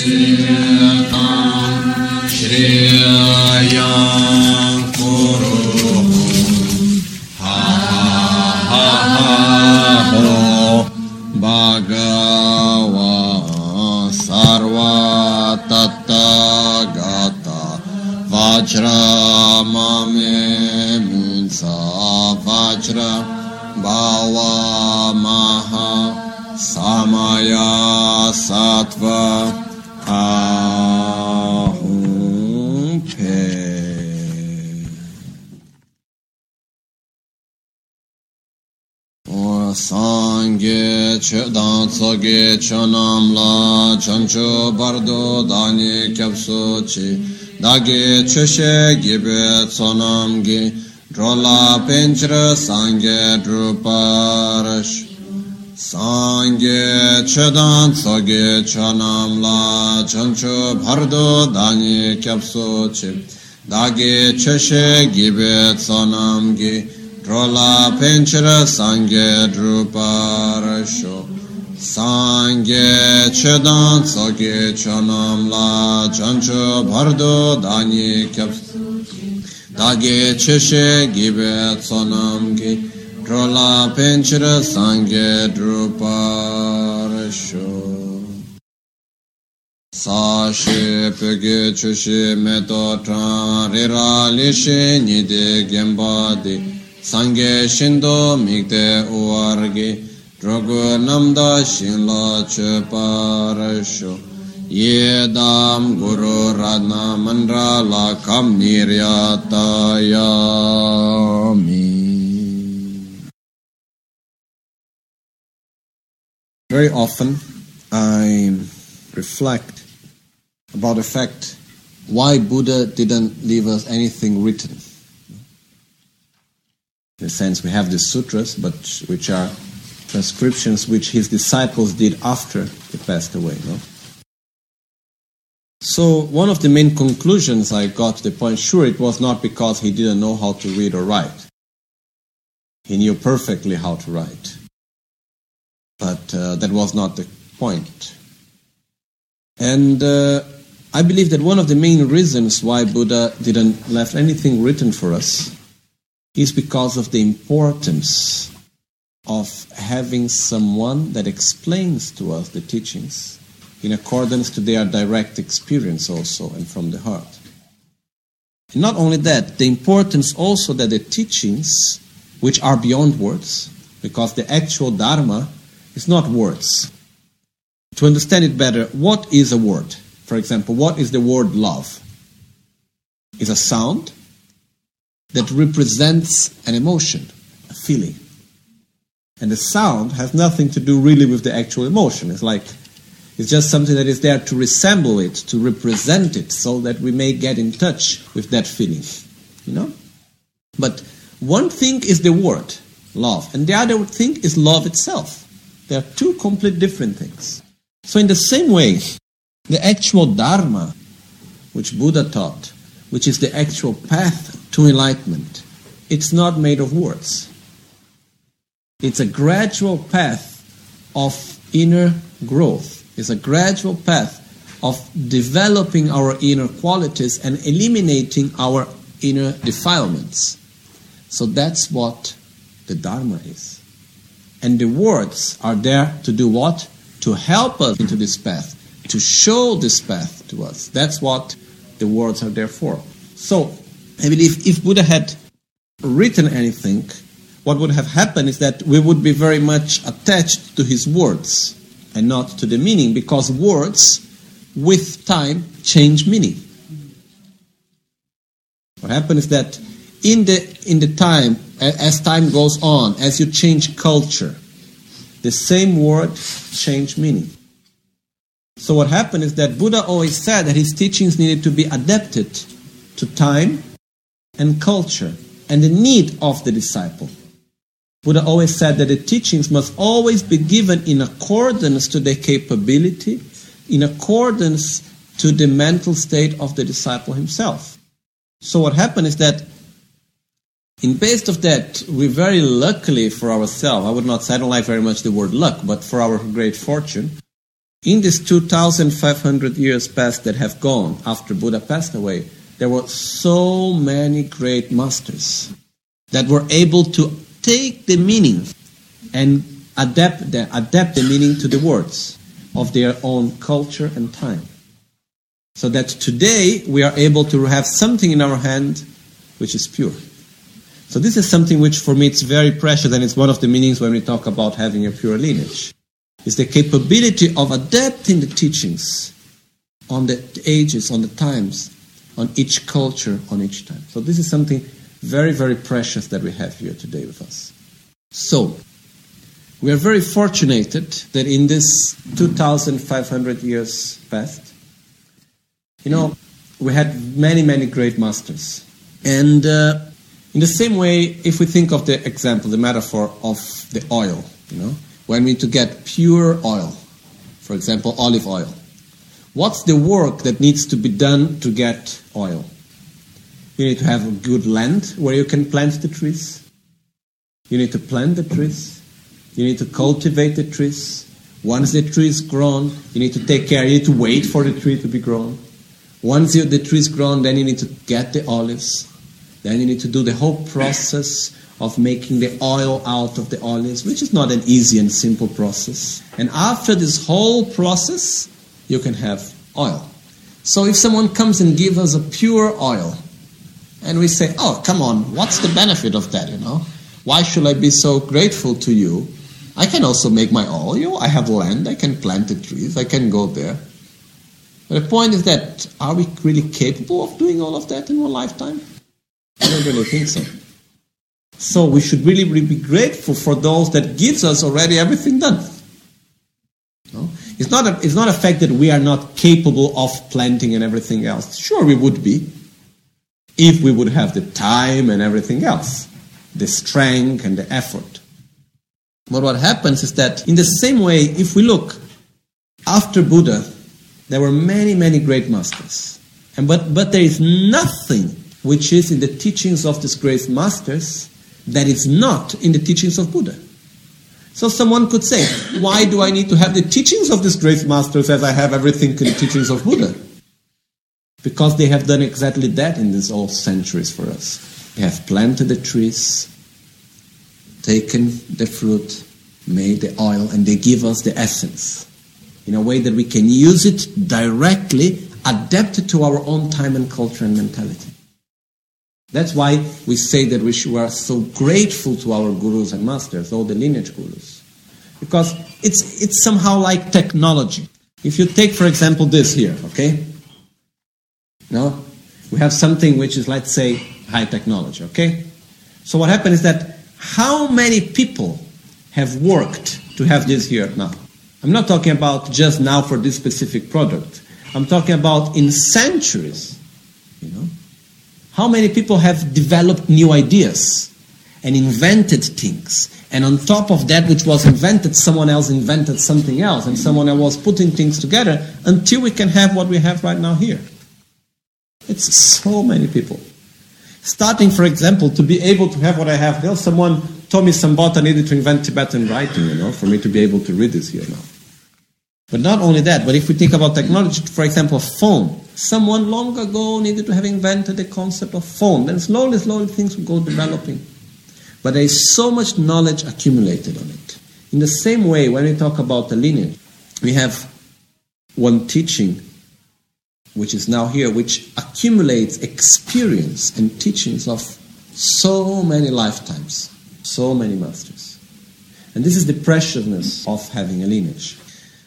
Shriyam Kuru Ha Ha Ho Bhagava Sarva Tattagata Vajra Mame Munsa Vajra Bhava Maha Samaya Sattva Ahum Pe. Sangye Chedan Tsoge Chanam La Chancho Bardo Dani Kyapso Chi Dage Cheshe Gibe Tsonam Gi Drola Penchra Sangye Druparash Sangye Chedan Tsoge Chanam La Chancho Bardo Dani Kyapso Chi Dage Cheshe Gibe Tsonam Gi Drola Penchara Sangye Druparasho Sangye Chedan Tsoge Chanam La Chancho Bardo Dani Kyaps Dage Cheshe Gibe Tsonam Gi Drola Penchara Sangye Druparasho Sashi Pege Chushi Meto Tran Rira Lishe Nide Gembadi Sangye Shindo Mikde Uwargi Drogu Namda Shinla Cheparasho Yedam Guru Radna Mandra La Kam Niryatayami. Very often I reflect about the fact why Buddha didn't leave us anything written. In a sense, we have the sutras, but which are transcriptions which his disciples did after he passed away. No? So one of the main conclusions I got to the point, sure, it was not because he didn't know how to read or write. He knew perfectly how to write. But that was not the point. And I believe that one of the main reasons why Buddha didn't left anything written for us is because of the importance of having someone that explains to us the teachings in accordance to their direct experience also and from the heart. And not only that, the importance also that the teachings, which are beyond words, because the actual Dharma is not words. To understand it better, what is a word? For example, what is the word love? It's a sound that represents an emotion, a feeling. And the sound has nothing to do really with the actual emotion. It's just something that is there to resemble it, to represent it, so that we may get in touch with that feeling. You know? But one thing is the word, love, and the other thing is love itself. They are two completely different things. So in the same way, the actual Dharma, which Buddha taught, which is the actual path to enlightenment, it's not made of words. It's a gradual path of inner growth. It's a gradual path of developing our inner qualities and eliminating our inner defilements. So that's what the Dharma is. And the words are there to do what? To help us into this path, to show this path to us. That's what the words are there for. So, I believe if Buddha had written anything, what would have happened is that we would be very much attached to his words and not to the meaning, because words, with time, change meaning. What happens is that in the time, as time goes on, as you change culture, the same word change meaning. So what happened is that Buddha always said that his teachings needed to be adapted to time and culture and the need of the disciple. Buddha always said that the teachings must always be given in accordance to the capability, in accordance to the mental state of the disciple himself. So what happened is that in base of that, we very luckily for ourselves, I would not say, I don't like very much the word luck, but for our great fortune, in these 2,500 years past that have gone after Buddha passed away, there were so many great masters that were able to take the meaning and adapt the meaning to the words of their own culture and time. So that today we are able to have something in our hand which is pure. So this is something which for me it's very precious, and it's one of the meanings when we talk about having a pure lineage. It's the capability of adapting the teachings on the ages, on the times, on each culture, on each time. So this is something very, very precious that we have here today with us. So, we are very fortunate that in this 2,500 years past, we had many, many great masters. And in the same way, if we think of the example, the metaphor of the oil, when we need to get pure oil, for example, olive oil, what's the work that needs to be done to get oil? You need to have a good land where you can plant the trees. You need to plant the trees. You need to cultivate the trees. Once the tree is grown, you need to take care. You need to wait for the tree to be grown. Once the tree is grown, then you need to get the olives. Then you need to do the whole process of making the oil out of the olives, which is not an easy and simple process. And after this whole process, you can have oil. So if someone comes and gives us a pure oil, and we say, oh, come on, what's the benefit of that, Why should I be so grateful to you? I can also make my oil. I have land, I can plant the trees, I can go there. But the point is that, are we really capable of doing all of that in one lifetime? I don't really think so. So we should really, really be grateful for those that gives us already everything done. It's not a fact that we are not capable of planting and everything else. Sure, we would be, if we would have the time and everything else, the strength and the effort. But what happens is that in the same way, if we look, after Buddha, there were many, many great masters. But there is nothing which is in the teachings of these great masters that is not in the teachings of Buddha. So someone could say, why do I need to have the teachings of these great masters as I have everything in the teachings of Buddha? Because they have done exactly that in these old centuries for us. They have planted the trees, taken the fruit, made the oil, and they give us the essence in a way that we can use it directly, adapted to our own time and culture and mentality. That's why we say that we are so grateful to our gurus and masters, all the lineage gurus. Because it's somehow like technology. If you take, for example, this here, okay? No? We have something which is, let's say, high technology, okay? So what happened is that how many people have worked to have this here now? I'm not talking about just now for this specific product. I'm talking about in centuries, How many people have developed new ideas and invented things? And on top of that which was invented, someone else invented something else, and someone else was putting things together until we can have what we have right now here. It's so many people. Starting, for example, to be able to have what I have here, someone told me Sambhota needed to invent Tibetan writing, for me to be able to read this here now. But not only that, but if we think about technology, for example, phone. Someone long ago needed to have invented the concept of phone. Then slowly things will go developing. But there is so much knowledge accumulated on it. In the same way, when we talk about the lineage, we have one teaching, which is now here, which accumulates experience and teachings of so many lifetimes, so many masters. And this is the preciousness of having a lineage.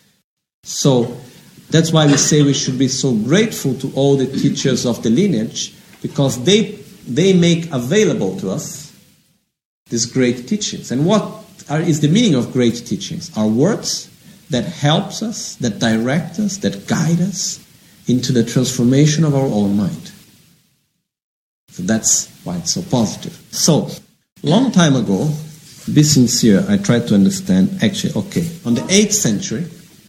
So that's why we say we should be so grateful to all the teachers of the lineage, because they make available to us these great teachings. And what is the meaning of great teachings? Are words that helps us, that direct us, that guide us into the transformation of our own mind. So that's why it's so positive. So, long time ago, be sincere, I tried to understand, on the 8th century,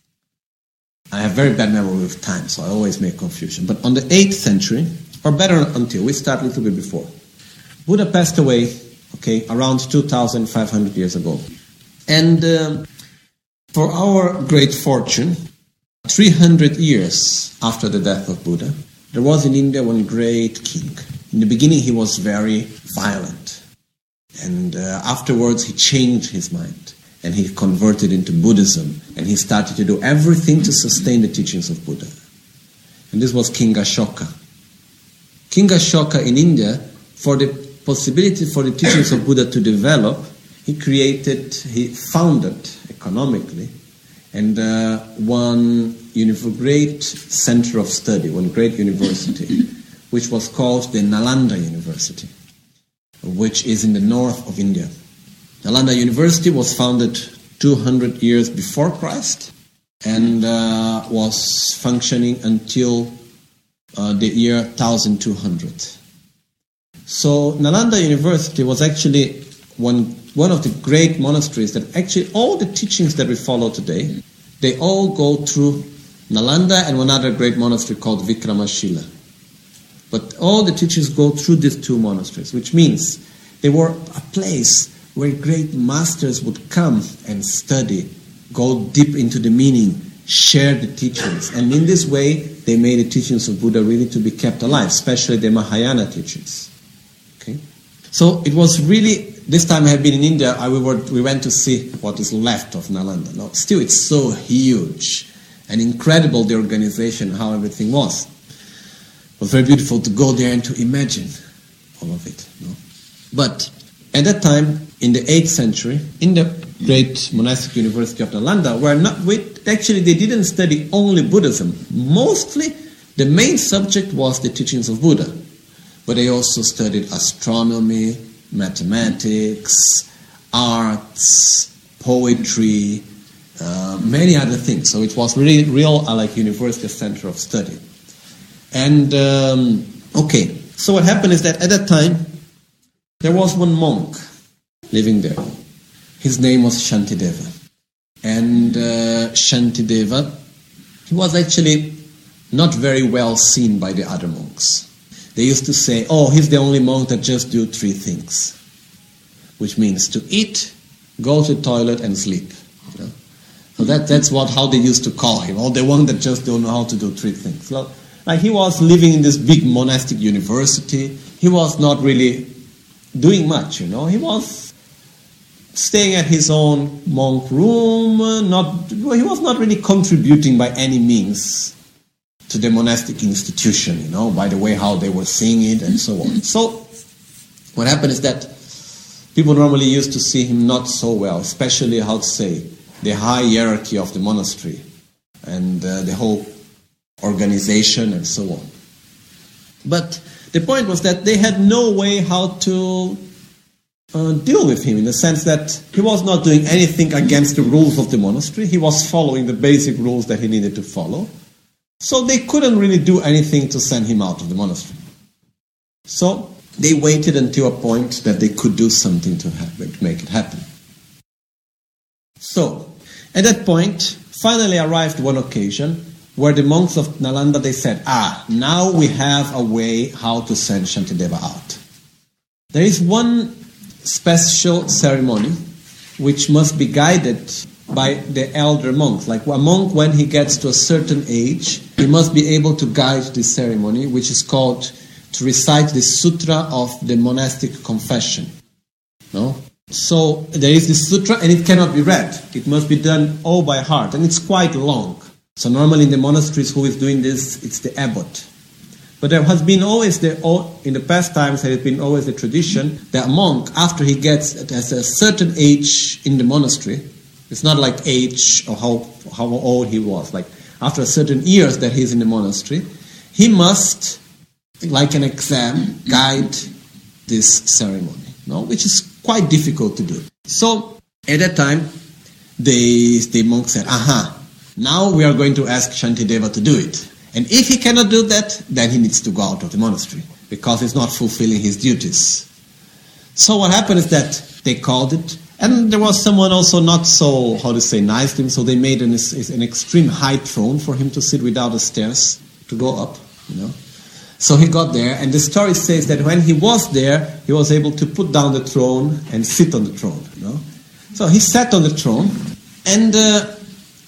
I have very bad memory with time, so I always make confusion. But on the 8th century, or better until, we start a little bit before. Buddha passed away, around 2,500 years ago. And for our great fortune, 300 years after the death of Buddha, there was in India one great king. In the beginning he was very violent, and afterwards he changed his mind and he converted into Buddhism, and he started to do everything to sustain the teachings of Buddha. And this was King Ashoka. King Ashoka in India, for the possibility for the teachings of Buddha to develop, he founded economically, and one great center of study, one great university, which was called the Nalanda University, which is in the north of India. Nalanda University was founded 200 years before Christ and was functioning until the year 1200. So Nalanda University was actually one of the great monasteries that actually all the teachings that we follow today, they all go through Nalanda and one other great monastery called Vikramashila. But all the teachings go through these two monasteries, which means they were a place where great masters would come and study, go deep into the meaning, share the teachings. And in this way, they made the teachings of Buddha really to be kept alive, especially the Mahayana teachings. Okay? So it was really, this time I have been in India, we went to see what is left of Nalanda. Now, still, it's so huge and incredible, the organization, how everything was. It was very beautiful to go there and to imagine all of it. No? But at that time, in the 8th century, in the great monastic university of Nalanda, actually they didn't study only Buddhism. Mostly, the main subject was the teachings of Buddha. But they also studied astronomy, mathematics, arts, poetry, many other things. So it was really real like university center of study. And so what happened is that at that time there was one monk living there. His name was Shantideva. And Shantideva, he was actually not very well seen by the other monks. They used to say, oh, he's the only monk that just do 3 things, which means to eat, go to the toilet, and sleep. You know? So that's how they used to call him, the one that just don't know how to do 3 things. So, like, he was living in this big monastic university. He was not really doing much, He was staying at his own monk room. He was not really contributing by any means to the monastic institution, by the way how they were seeing it and so on. So what happened is that people normally used to see him not so well, especially, the high hierarchy of the monastery and the whole organization and so on. But the point was that they had no way how to deal with him, in the sense that he was not doing anything against the rules of the monastery. He was following the basic rules that he needed to follow. So they couldn't really do anything to send him out of the monastery. So they waited until a point that they could do something to make it happen. So at that point, finally arrived one occasion where the monks of Nalanda, they said, now we have a way how to send Shantideva out. There is one special ceremony which must be guided by the elder monks. Like a monk, when he gets to a certain age, he must be able to guide this ceremony, which is called to recite the sutra of the monastic confession. No? So there is this sutra and it cannot be read. It must be done all by heart, and it's quite long. So normally in the monasteries, who is doing this? It's the abbot. But there has been always, in the past times, there has been always the tradition that a monk, after he gets at a certain age in the monastery, it's not like age or how old he was, like after a certain years that he's in the monastery, he must, like an exam, guide this ceremony, which is quite difficult to do. So at that time, the monk said, now we are going to ask Shantideva to do it. And if he cannot do that, then he needs to go out of the monastery, because he's not fulfilling his duties. So what happened is that they called it, and there was someone also not so, nice to him, so they made an extreme high throne for him to sit without the stairs to go up, So he got there, and the story says that when he was there, he was able to put down the throne and sit on the throne, So he sat on the throne, and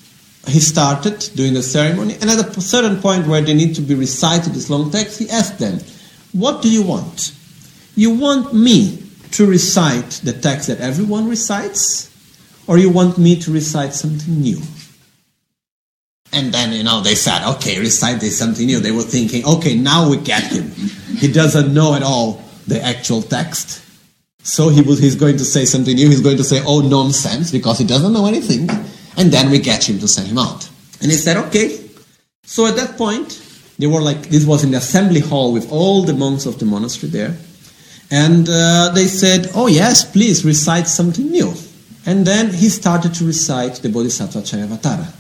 he started doing the ceremony, and at a certain point where they need to be recited this long text, he asked them, what do you want? You want me to recite the text that everyone recites, or you want me to recite something new? And then, they said, okay, recite something new. They were thinking, okay, now we get him. He doesn't know at all the actual text. So he's going to say something new. He's going to say, oh, nonsense, because he doesn't know anything. And then we get him to send him out. And he said, okay. So at that point, they were this was in the assembly hall with all the monks of the monastery there. And they said, oh yes, please recite something new. And then he started to recite the Bodhisattva Charyavatara.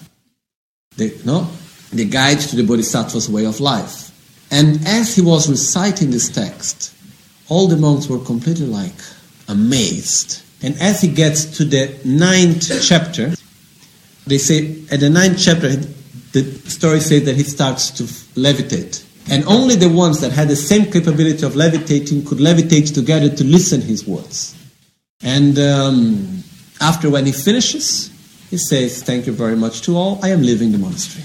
The guide to the Bodhisattva's way of life. And as he was reciting this text, all the monks were completely amazed. And as he gets to the 9th chapter, they say at the 9th chapter, the story says that he starts to levitate. And only the ones that had the same capability of levitating could levitate together to listen his words. And after when he finishes, he says, thank you very much to all, I am leaving the monastery.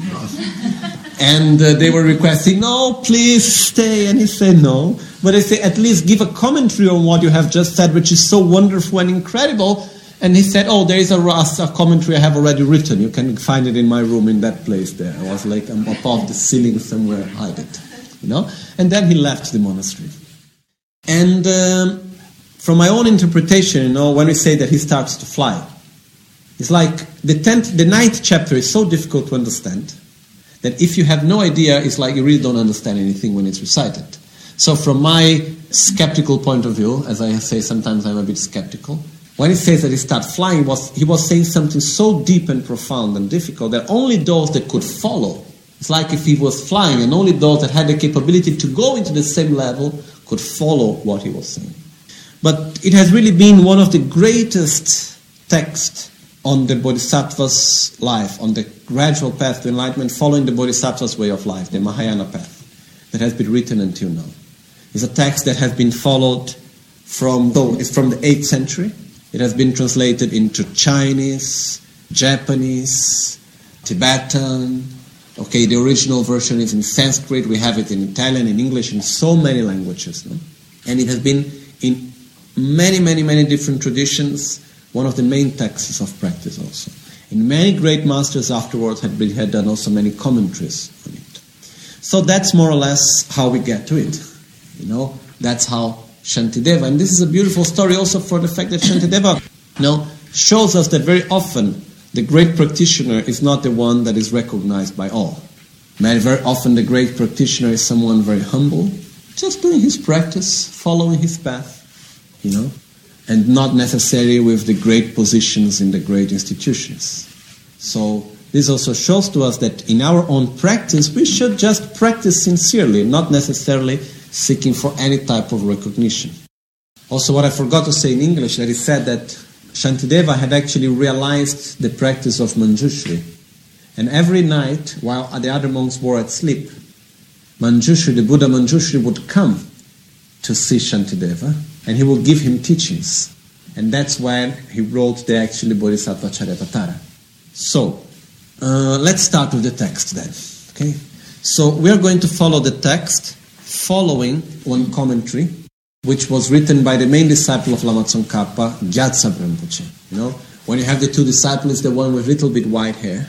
And they were requesting, no, please stay. And he said no. But they say, at least give a commentary on what you have just said, which is so wonderful and incredible. And he said, oh, there is a commentary I have already written. You can find it in my room in that place there. I was above the ceiling somewhere, hide it. And then he left the monastery. And from my own interpretation, when we say that he starts to fly, it's like the 9th chapter is so difficult to understand that if you have no idea, it's like you really don't understand anything when it's recited. So from my skeptical point of view, as I say, sometimes I'm a bit skeptical, when he says that he starts flying, he was saying something so deep and profound and difficult that only those that could follow, it's like if he was flying and only those that had the capability to go into the same level could follow what he was saying. But it has really been one of the greatest texts on the Bodhisattva's life, on the gradual path to enlightenment, following the Bodhisattva's way of life, the Mahayana path, that has been written until now. It's a text that has been followed it's from the 8th century. It has been translated into Chinese, Japanese, Tibetan. Okay, the original version is in Sanskrit. We have it in Italian, in English, in so many languages. And it has been in many, many, many different traditions, one of the main texts of practice also. And many great masters afterwards had done also many commentaries on it. So that's more or less how we get to it. That's how Shantideva, and this is a beautiful story also for the fact that Shantideva shows us that very often the great practitioner is not the one that is recognized by all. Very often the great practitioner is someone very humble, just doing his practice, following his path, and not necessarily with the great positions in the great institutions. So this also shows to us that in our own practice, we should just practice sincerely, not necessarily seeking for any type of recognition. Also, what I forgot to say in English, that it said that Shantideva had actually realized the practice of Manjushri. And every night, while the other monks were asleep, Manjushri, the Buddha Manjushri, would come to see Shantideva, and he would give him teachings. And that's when he wrote the actually Bodhisattva Charyavatara. So, let's start with the text then. Okay? So, we are going to follow the text following one commentary, which was written by the main disciple of Lama Tsongkhapa, Gyatso Rinpoche. When you have the two disciples, the one with little bit white hair,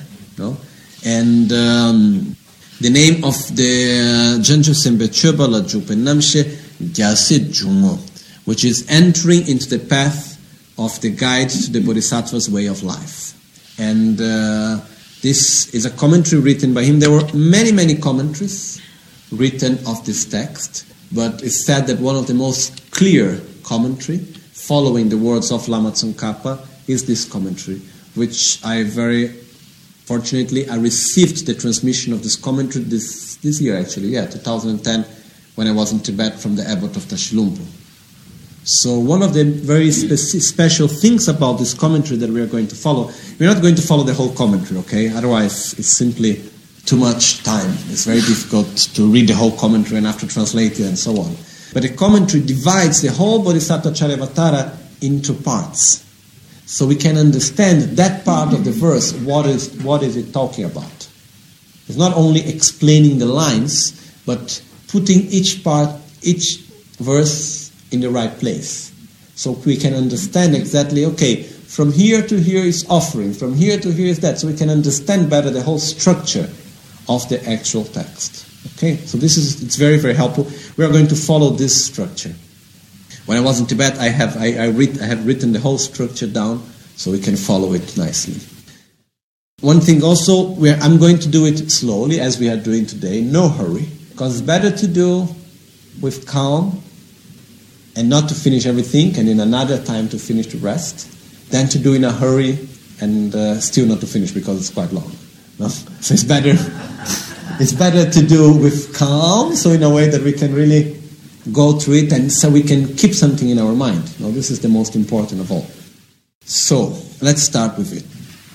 and the name of the Janju Sembe Choba La Jupe Namshe Gyasi Jungo, which is entering into the path of the guide to the Bodhisattva's way of life. And this is a commentary written by him. There were many, many commentaries written of this text, but it's said that one of the most clear commentary following the words of Lama Tsongkhapa is this commentary, which I fortunately received the transmission of this commentary this year actually, 2010, when I was in Tibet from the abbot of Tashilhunpo. So one of the very special things about this commentary that we are going to follow, we're not going to follow the whole commentary, okay? Otherwise it's simply too much time. It's very difficult to read the whole commentary and have to translate it and so on. But the commentary divides the whole Bodhisattva Charyavatara into parts. so we can understand that part of the verse, what is it talking about. It's not only explaining the lines, but putting each verse in the right place. So we can understand exactly, okay, from here to here is offering, from here to here is that, so we can understand better the whole structure of the actual text. Okay, so it's very, very helpful. We are going to follow this structure. When I was in Tibet, I have written the whole structure down so we can follow it nicely. One thing also, I'm going to do it slowly as we are doing today, no hurry, because it's better to do with calm and not to finish everything and in another time to finish the rest than to do in a hurry and still not to finish because it's quite long. No? So it's better to do with calm, so in a way that we can really go through it and so we can keep something in our mind. Now, this is the most important of all. So, let's start with it.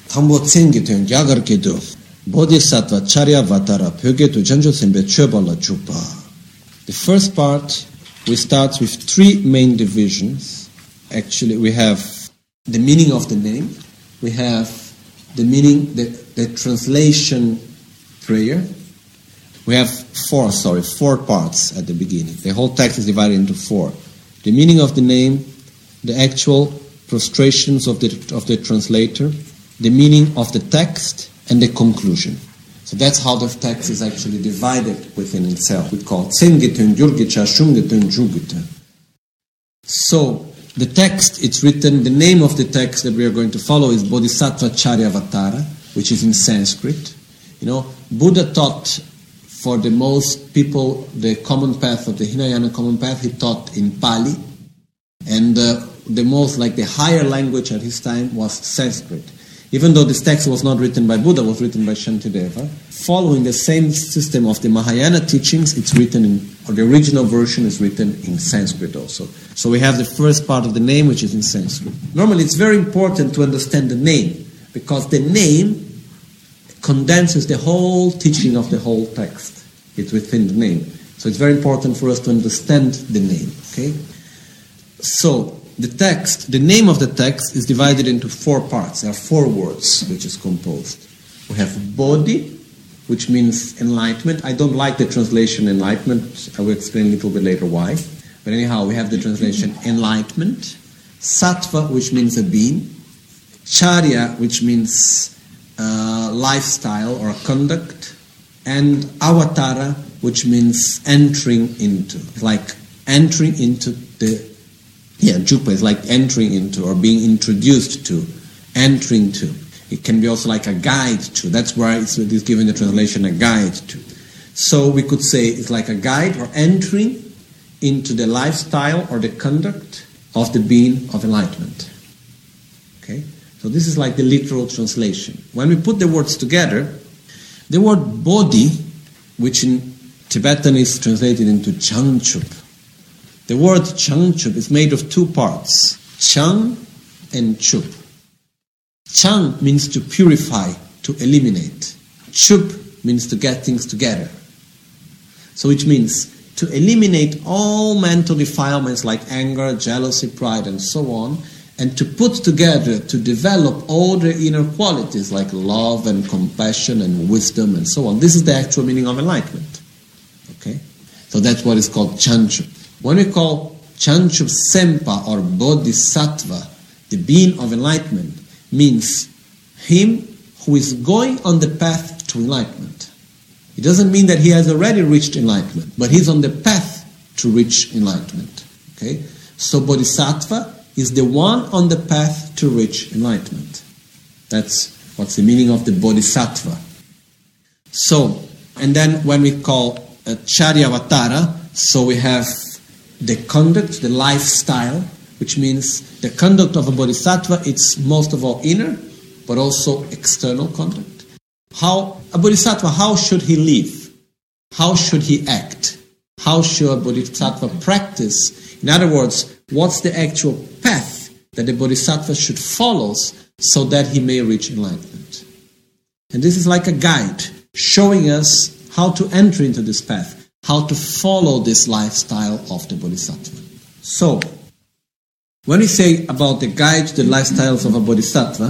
Bodhisattva Charyavatara Pyogetu Janjo Sembe Chöbala Chupa. The first part, we start with three main divisions. Actually, we have the meaning of the name, we have the meaning, the translation prayer. We have four parts at the beginning. The whole text is divided into four. The meaning of the name, the actual prostrations of the translator, the meaning of the text, and the conclusion. So that's how the text is actually divided within itself. We call it Tsengetun, Gyurgicha, Shungetun, Jugita. So the text, it's written, the name of the text that we are going to follow is Bodhisattva Charyavatara, which is in Sanskrit. You know, Buddha taught for the most people the common path of the Hinayana common path, he taught in Pali. And the most, like the higher language at his time was Sanskrit. Even though this text was not written by Buddha, it was written by Shantideva. Following the same system of the Mahayana teachings, the original version is written in Sanskrit also. So we have the first part of the name, which is in Sanskrit. Normally it's very important to understand the name, because the name condenses the whole teaching of the whole text. It's within the name. So it's very important for us to understand the name. Okay? So the name of the text is divided into four parts. There are four words which is composed. We have Bodhi, which means enlightenment. I don't like the translation enlightenment. I will explain a little bit later why. But anyhow, we have the translation enlightenment. Sattva, which means a being. Charya, which means lifestyle or conduct. And Avatara, which means entering into. It's like entering into Jupa is like entering into or being introduced to, entering to. It can be also like a guide to. That's why it's given the translation a guide to. So we could say it's like a guide or entering into the lifestyle or the conduct of the being of enlightenment. Okay? So this is like the literal translation. When we put the words together, the word Bodhi, which in Tibetan is translated into Changchup. The word Changchup is made of two parts, Chang and Chup. Chang means to purify, to eliminate. Chup means to get things together. So which means to eliminate all mental defilements like anger, jealousy, pride, and so on, and to put together, to develop all the inner qualities like love and compassion and wisdom and so on. This is the actual meaning of enlightenment. Okay? So that's what is called Changchup. When we call Changchup Sempa or Bodhisattva, the being of enlightenment, means him who is going on the path to enlightenment. It doesn't mean that he has already reached enlightenment, but he's on the path to reach enlightenment. Okay? So Bodhisattva is the one on the path to reach enlightenment. That's what's the meaning of the Bodhisattva. So, and then when we call Charyavatara, so we have the conduct, the lifestyle, which means the conduct of a bodhisattva, it's most of all inner, but also external conduct. A bodhisattva, how should he live? How should he act? How should a bodhisattva practice? In other words, what's the actual path that the bodhisattva should follow so that he may reach enlightenment? And this is like a guide showing us how to enter into this path, how to follow this lifestyle of the bodhisattva. So, When we say about the guide to the lifestyles of a bodhisattva,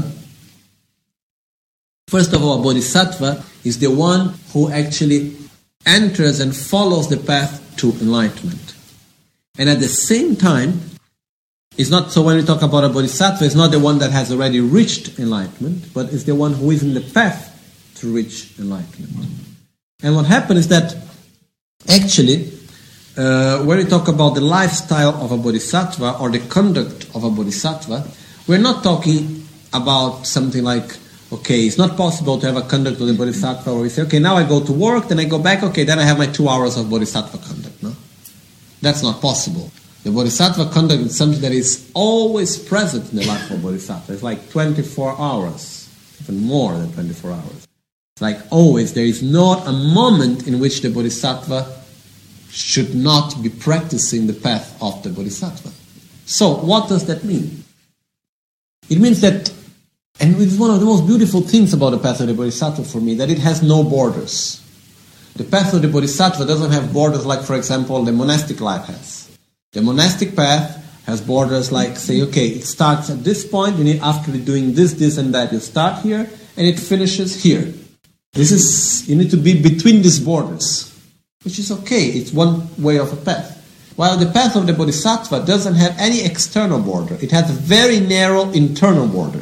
first of all, a bodhisattva is the one who actually enters and follows the path to enlightenment. And at the same time, it's not, so when we talk about a bodhisattva, it's not the one that has already reached enlightenment, but it's the one who is in the path to reach enlightenment. And what happens is that actually, when we talk about the lifestyle of a bodhisattva or the conduct of a bodhisattva, we're not talking about something like, okay, it's not possible to have a conduct of the bodhisattva where we say, okay, now I go to work, then I go back, okay, then I have my 2 hours of bodhisattva conduct. No? That's not possible. The bodhisattva conduct is something that is always present in the life of a bodhisattva. It's like 24 hours, even more than 24 hours. It's like always, there is not a moment in which the bodhisattva should not be practicing the path of the bodhisattva. So, what does that mean? It means that, and it's one of the most beautiful things about the path of the bodhisattva for me, that it has no borders. The path of the bodhisattva doesn't have borders like, for example, the monastic life has. The monastic path has borders like, say, okay, it starts at this point, after doing this, this, and that, you start here, and it finishes here. You need to be between these borders, which is okay, it's one way of a path. While the path of the bodhisattva doesn't have any external border, it has a very narrow internal border.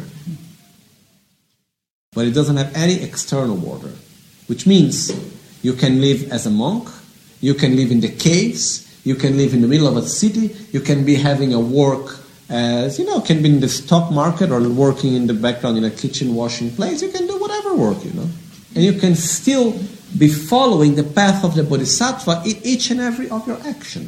But it doesn't have any external border, which means you can live as a monk, you can live in the caves, you can live in the middle of a city, you can be having a work as, can be in the stock market or working in the background in a kitchen washing place, you can do whatever work, And you can still be following the path of the bodhisattva in each and every of your action.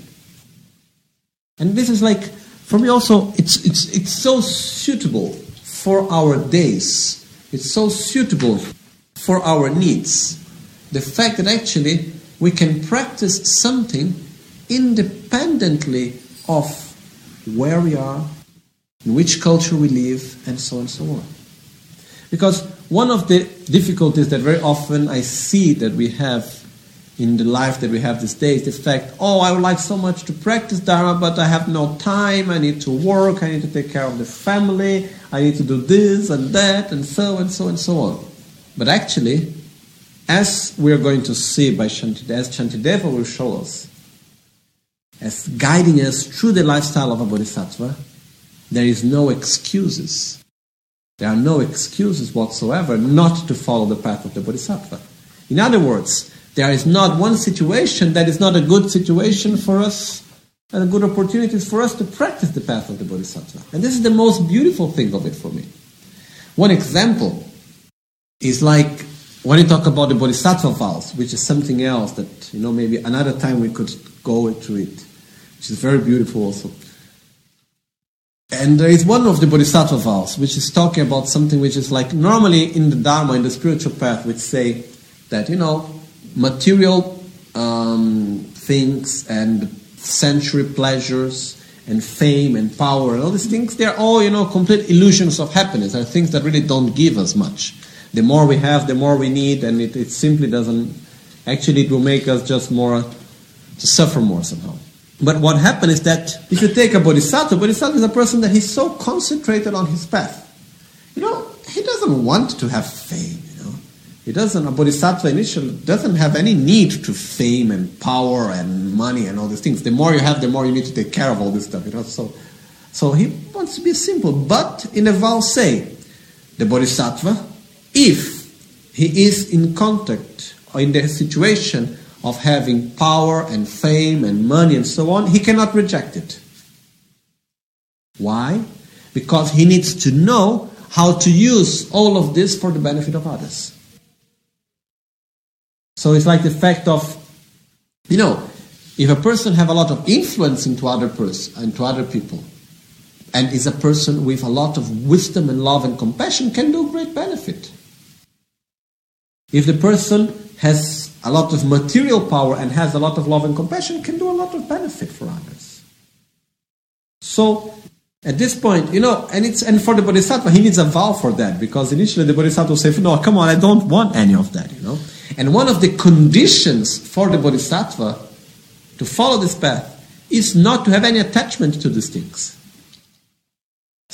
And this is like, for me also, it's so suitable for our days. It's so suitable for our needs. The fact that actually we can practice something independently of where we are, in which culture we live, and so on and so on. Because one of the difficulties that very often I see that we have in the life that we have these days, the fact, I would like so much to practice Dharma, but I have no time, I need to work, I need to take care of the family, I need to do this and that, and so and so and so on. But actually, as we are going to see by as Shantideva will show us, as guiding us through the lifestyle of a bodhisattva, there is no excuses. There are no excuses whatsoever not to follow the path of the bodhisattva. In other words, there is not one situation that is not a good situation for us, and a good opportunity for us to practice the path of the bodhisattva. And this is the most beautiful thing of it for me. One example is like when you talk about the bodhisattva vows, which is something else that, maybe another time we could go into it, which is very beautiful also. And there is one of the bodhisattva vows, which is talking about something which is like, normally in the Dharma, in the spiritual path, which say that, material things and sensory pleasures and fame and power and all these things, they're all, complete illusions of happiness. They're things that really don't give us much. The more we have, the more we need, and it simply doesn't, actually it will make us just more, to suffer more somehow. But what happens is that if you take a bodhisattva is a person that he's so concentrated on his path. He doesn't want to have fame, a bodhisattva initially doesn't have any need to fame and power and money and all these things. The more you have, the more you need to take care of all this stuff, So he wants to be simple. But in the vow say, the bodhisattva, if he is in contact or in the situation of having power and fame and money and so on, he cannot reject it. Why? Because he needs to know how to use all of this for the benefit of others. So it's like the fact of, if a person have a lot of influence into other people, and is a person with a lot of wisdom and love and compassion, can do great benefit. If the person has a lot of material power and has a lot of love and compassion, can do a lot of benefit for others. So, at this point, and for the bodhisattva, he needs a vow for that, because initially the bodhisattva will say, no, come on, I don't want any of that, And one of the conditions for the bodhisattva to follow this path is not to have any attachment to these things.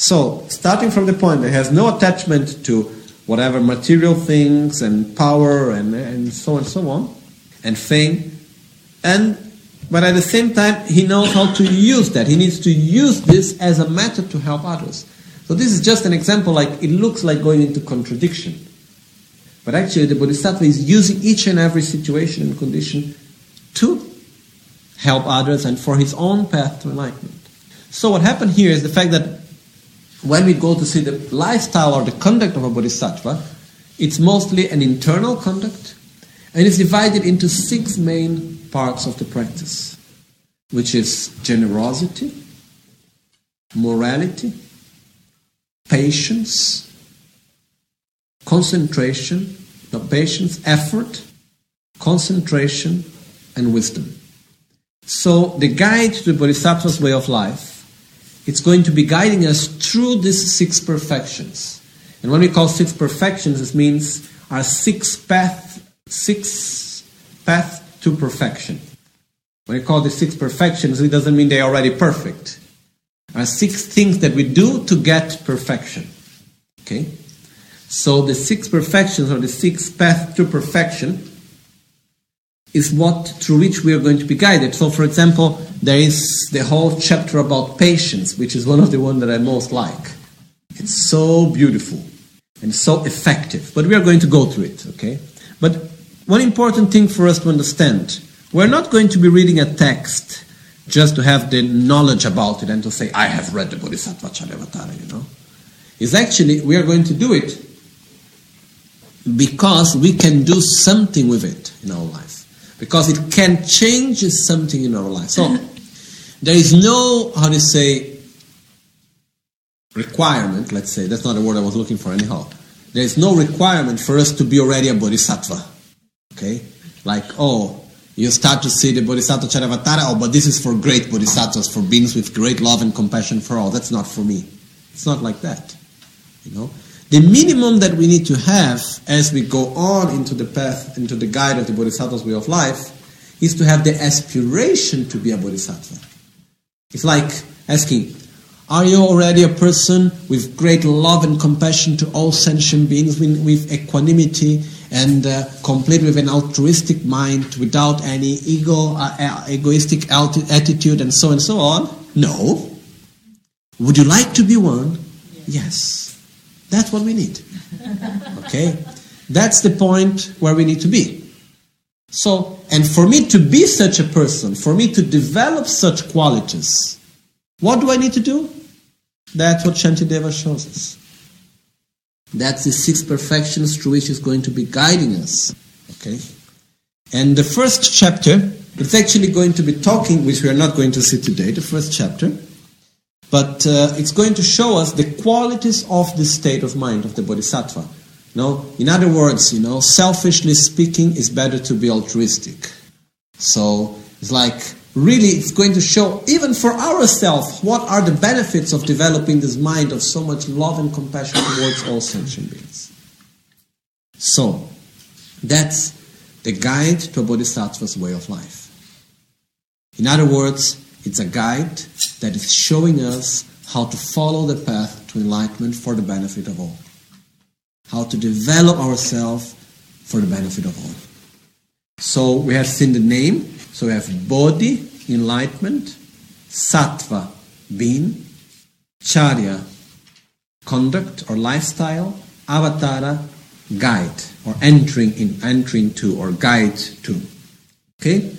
So, starting from the point that has no attachment to whatever material things and power and so on, and fame, but at the same time, he knows how to use that. He needs to use this as a method to help others. So this is just an example, like it looks like going into contradiction. But actually the Bodhisattva is using each and every situation and condition to help others and for his own path to enlightenment. So what happened here is the fact that when we go to see the lifestyle or the conduct of a Bodhisattva, it's mostly an internal conduct, and it's divided into 6 main parts of the practice, which is generosity, morality, patience, concentration, effort, concentration, and wisdom. So the guide to the Bodhisattva's way of life, it's going to be guiding us through these 6 perfections. And when we call 6 perfections, it means our 6 paths to perfection. When we call the 6 perfections, it doesn't mean they're already perfect. Are 6 things that we do to get perfection. Okay? So the 6 perfections or the 6 paths to perfection is what through which we are going to be guided. So for example, there is the whole chapter about patience, which is one of the ones that I most like. It's so beautiful and so effective. But we are going to go through it, okay? But one important thing for us to understand, we're not going to be reading a text just to have the knowledge about it and to say, I have read the Bodhisattva Charyavatara, It's actually, we are going to do it because we can do something with it in our life. Because it can change something in our life. So, there is no, requirement, let's say, that's not the word I was looking for anyhow. There is no requirement for us to be already a Bodhisattva. Okay? Like, you start to see the Bodhisattva Charyavatara, but this is for great Bodhisattvas, for beings with great love and compassion for all. That's not for me. It's not like that. The minimum that we need to have as we go on into the path, into the guide of the Bodhisattva's way of life, is to have the aspiration to be a Bodhisattva. It's like asking, are you already a person with great love and compassion to all sentient beings, with equanimity and complete with an altruistic mind, without any egoistic attitude and so on? No. Would you like to be one? Yes. That's what we need. Okay? That's the point where we need to be. So, and for me to be such a person, for me to develop such qualities, what do I need to do? That's what Shantideva shows us. That's the 6 perfections through which is going to be guiding us. Okay? And the first chapter, it's actually going to be talking, which we are not going to see today, the first chapter, but it's going to show us the qualities of the state of mind of the Bodhisattva. In other words, selfishly speaking, it's better to be altruistic. So it's like, really, it's going to show, even for ourselves, what are the benefits of developing this mind of so much love and compassion towards all sentient beings. So, that's the guide to a Bodhisattva's way of life. In other words, it's a guide that is showing us how to follow the path to enlightenment for the benefit of all. How to develop ourselves for the benefit of all. So we have seen the name. So we have Bodhi, enlightenment, Sattva, being, Charya, conduct or lifestyle, Avatara, guide or entering to or guide to. Okay?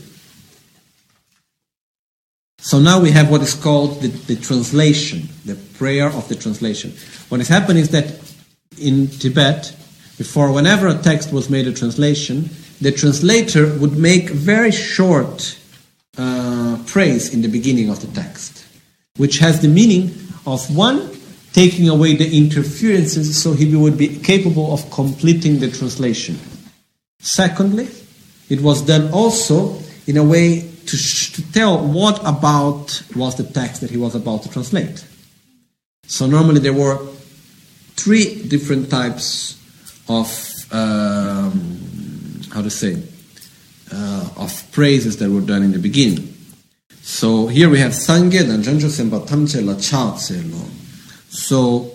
So now we have what is called the translation, the prayer of the translation. What has happened is that in Tibet, before whenever a text was made a translation, the translator would make very short praise in the beginning of the text, which has the meaning of one, taking away the interferences so he would be capable of completing the translation. Secondly, it was done also in a way to tell what about was the text that he was about to translate. So normally there were 3 different types of of praises that were done in the beginning. So here we have Sangye Danjanjo Semba Tamche La Cha Tse Lo. So,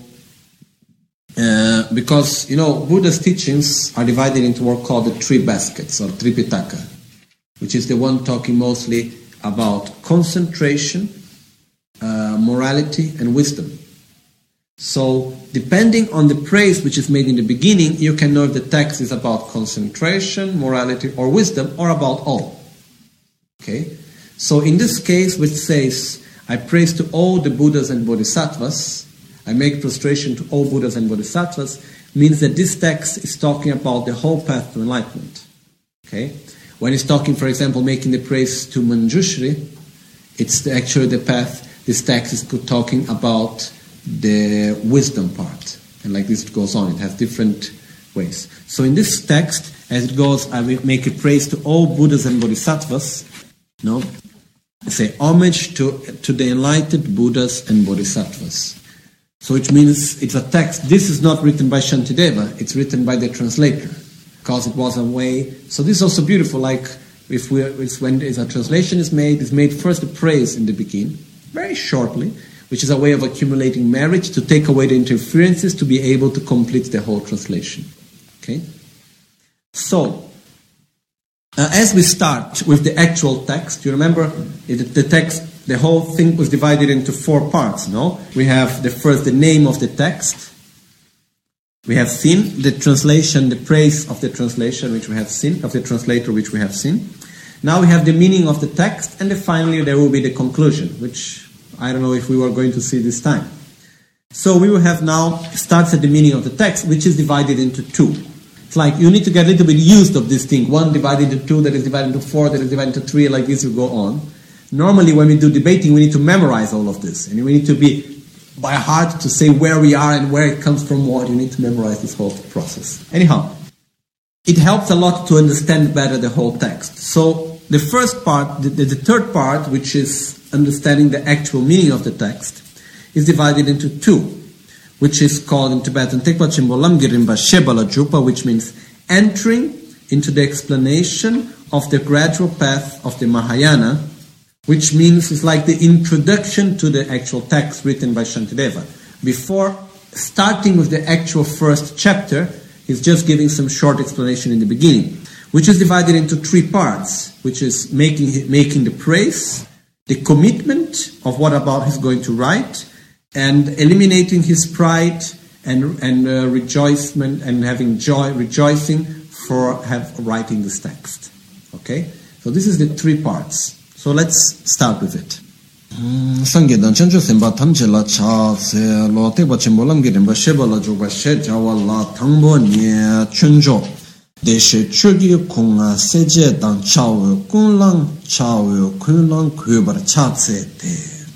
because, Buddha's teachings are divided into what are called the three baskets, or Tripitaka, which is the one talking mostly about concentration, morality, and wisdom. So, depending on the praise which is made in the beginning, you can know if the text is about concentration, morality, or wisdom, or about all. Okay? So, in this case, which says, I praise to all the Buddhas and Bodhisattvas, I make prostration to all Buddhas and Bodhisattvas, means that this text is talking about the whole path to enlightenment. Okay? When it's talking, for example, making the praise to Manjushri, it's actually the path. This text is talking about the wisdom part. And like this it goes on. It has different ways. So in this text, as it goes, I will make a praise to all Buddhas and Bodhisattvas. I say homage to the enlightened Buddhas and Bodhisattvas. So which means it's a text. This is not written by Shantideva. It's written by the translator. Because it was a way. So this is also beautiful. Like when a translation is made, it's made first a praise in the beginning, very shortly, which is a way of accumulating merit to take away the interferences to be able to complete the whole translation. Okay? So, as we start with the actual text, you remember the text, the whole thing was divided into 4 parts, no? We have the name of the text. We have seen the translation, the praise of the translation which we have seen, of the translator which we have seen. Now we have the meaning of the text, and then finally there will be the conclusion, which I don't know if we were going to see this time. So we will have now, starts at the meaning of the text, which is divided into 2. It's like you need to get a little bit used of this thing. 1 divided into 2, that is divided into 4, that is divided into 3, like this will go on. Normally when we do debating, we need to memorize all of this. And we need to be by heart to say where we are and where it comes from what. You need to memorize this whole process. Anyhow, it helps a lot to understand better the whole text. So the first part, the third part, which is understanding the actual meaning of the text, is divided into 2, which is called in Tibetan Tekpa Chimbolam Girimba Shebala Jupa, which means entering into the explanation of the gradual path of the Mahayana, which means it's like the introduction to the actual text written by Shantideva. Before starting with the actual first chapter, he's just giving some short explanation in the beginning, which is divided into 3 parts, which is making the praise, the commitment of what about he's going to write, and eliminating his pride and rejoicement and having joy, rejoicing for writing this text. Okay? So this is the 3 parts. So let's start with it. Sangedan chancho semba tamchela cha se lo te ba chimbolam girim ba sheba la jo ba she jawala thangbo nye chunjo de she chugi kunga seje dan chawo kunlang chawo kunlang kubar cha se te.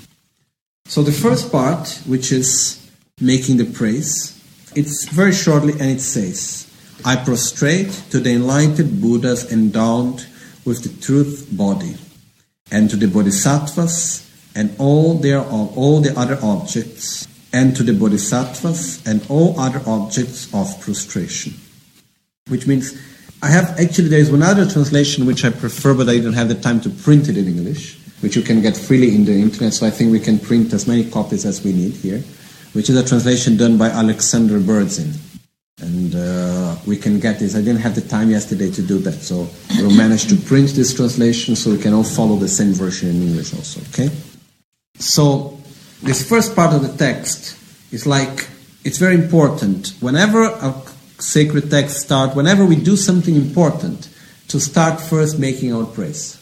So the first part, which is making the praise, it's very shortly, and it says, I prostrate to the enlightened Buddhas endowed with the truth body, and to the Bodhisattvas and all the other objects, and to the Bodhisattvas and all other objects of prostration. Which means, there is one other translation which I prefer, but I don't have the time to print it in English, which you can get freely in the internet, so I think we can print as many copies as we need here, which is a translation done by Alexander Berdzin. And we can get this. I didn't have the time yesterday to do that, so we'll manage to print this translation so we can all follow the same version in English also, okay? So, this first part of the text is like, it's very important. Whenever a sacred text starts, whenever we do something important, to start first making our praise.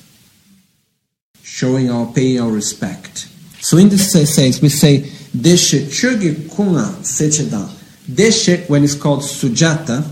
Paying our respect. So in this sense, we say, Deshe Chögi Kunga Sechedan. Deshe, when it's called Sugata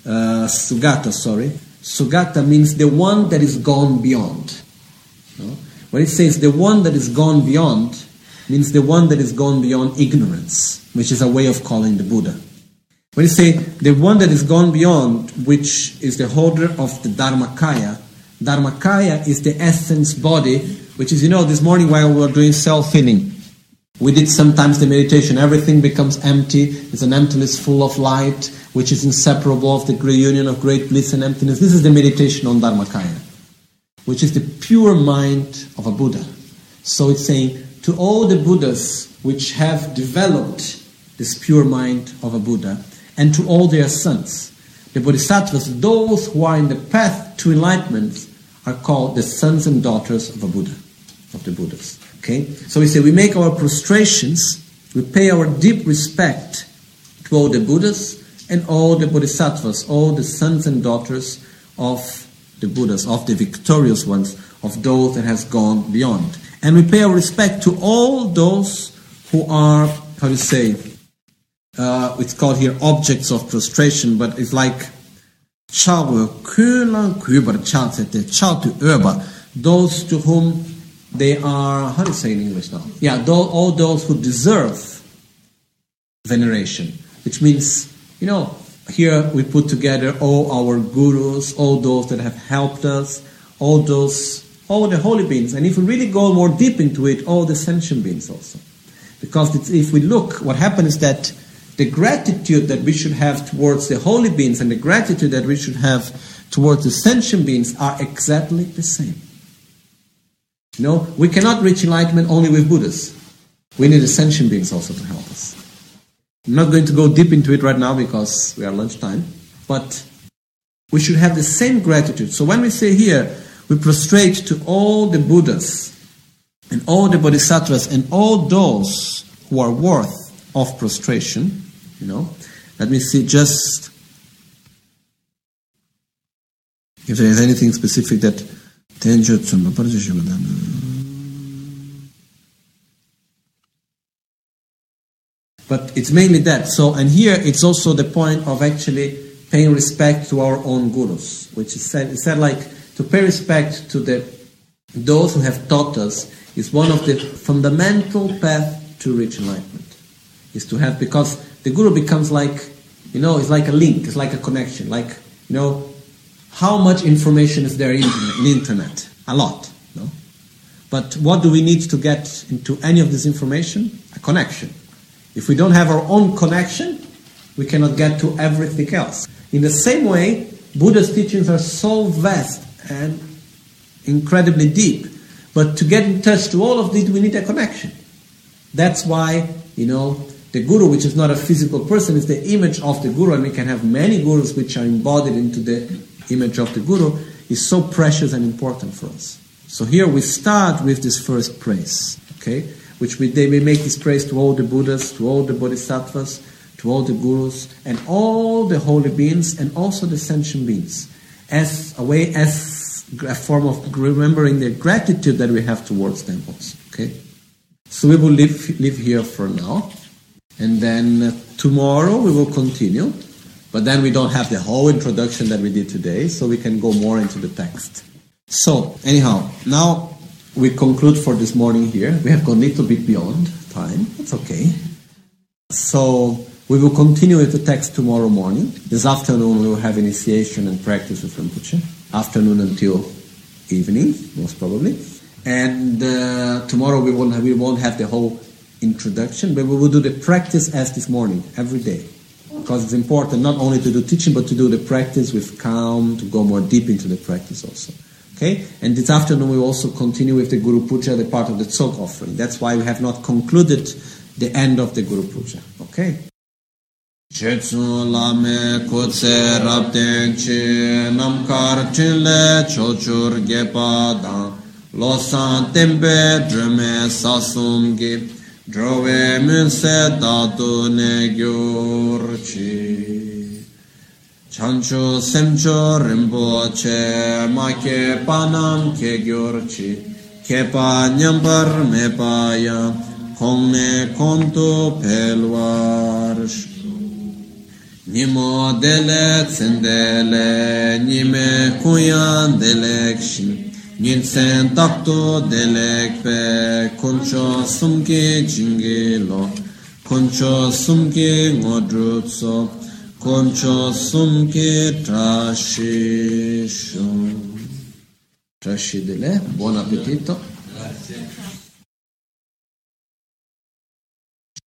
means the one that is gone beyond. No? When it says the one that is gone beyond, means the one that is gone beyond ignorance, which is a way of calling the Buddha. When you say the one that is gone beyond, which is the holder of the Dharmakaya is the essence body, which is, this morning while we were doing self-healing, we did sometimes the meditation, everything becomes empty, it's an emptiness full of light, which is inseparable of the great union of great bliss and emptiness. This is the meditation on Dharmakaya, which is the pure mind of a Buddha. So it's saying, to all the Buddhas which have developed this pure mind of a Buddha, and to all their sons. The Bodhisattvas, those who are in the path to enlightenment, are called the sons and daughters of a Buddha, of the Buddhas. Okay? So we say we make our prostrations, we pay our deep respect to all the Buddhas and all the Bodhisattvas, all the sons and daughters of the Buddhas, of the victorious ones, of those that has gone beyond. And we pay our respect to all those who are, how do you say, it's called here objects of prostration, but it's like those to whom they are, how do you say in English now? Yeah, all those who deserve veneration, which means, here we put together all our gurus, all those that have helped us, all the holy beings, and if we really go more deep into it, all the sentient beings also. Because if we look, what happens is that the gratitude that we should have towards the holy beings and the gratitude that we should have towards the sentient beings are exactly the same. We cannot reach enlightenment only with Buddhas. We need the sentient beings also to help us. I'm not going to go deep into it right now because we are lunchtime, but we should have the same gratitude. So when we say here, we prostrate to all the Buddhas and all the Bodhisattvas and all those who are worth of prostration, let me see just if there is anything specific that but it's mainly that. So, and here it's also the point of actually paying respect to our own gurus, which is said. It's said like to pay respect to those who have taught us is one of the fundamental paths to reach enlightenment. Is to have, because the guru becomes like, it's like a link, it's like a connection, like, how much information is there in the internet? A lot, no? But what do we need to get into any of this information? A connection. If we don't have our own connection, we cannot get to everything else. In the same way, Buddha's teachings are so vast and incredibly deep, but to get in touch to all of this, we need a connection. That's why, the guru, which is not a physical person, is the image of the guru, and we can have many gurus which are embodied into the image of the guru, is so precious and important for us. So here we start with this first praise, okay? Which we make this praise to all the Buddhas, to all the Bodhisattvas, to all the gurus, and all the holy beings, and also the sentient beings, as a form of remembering the gratitude that we have towards them also, okay? So we will live here for now. And then tomorrow we will continue, but then we don't have the whole introduction that we did today, so we can go more into the text. So, anyhow, now we conclude for this morning here. We have gone a little bit beyond time. That's okay. So, we will continue with the text tomorrow morning. This afternoon we will have initiation and practice with Rinpoche. Afternoon until evening, most probably. And tomorrow we won't have the whole introduction, but we will do the practice as this morning, every day. Because it's important not only to do teaching, but to do the practice with calm, to go more deep into the practice also. Okay? And this afternoon we will also continue with the Guru Puja, the part of the Tsok offering. That's why we have not concluded the end of the Guru Puja. Okay? Chetsu lame kutse rabden chi namkar chinle chochur gepa losan tembe drume sasum gi drove munse datu ne gyurchi chancho semcho rimpoche make panam ke gyurchi kepa nyambar me paya kongne konto pelwarsh Nimo dele tsendele nime kuyan delekşin Nilsen takto delekpe koncho sumki jingilo koncho sumki ngodrutso koncho sumki trashisho. Trashidele, buon appetito. Grazie.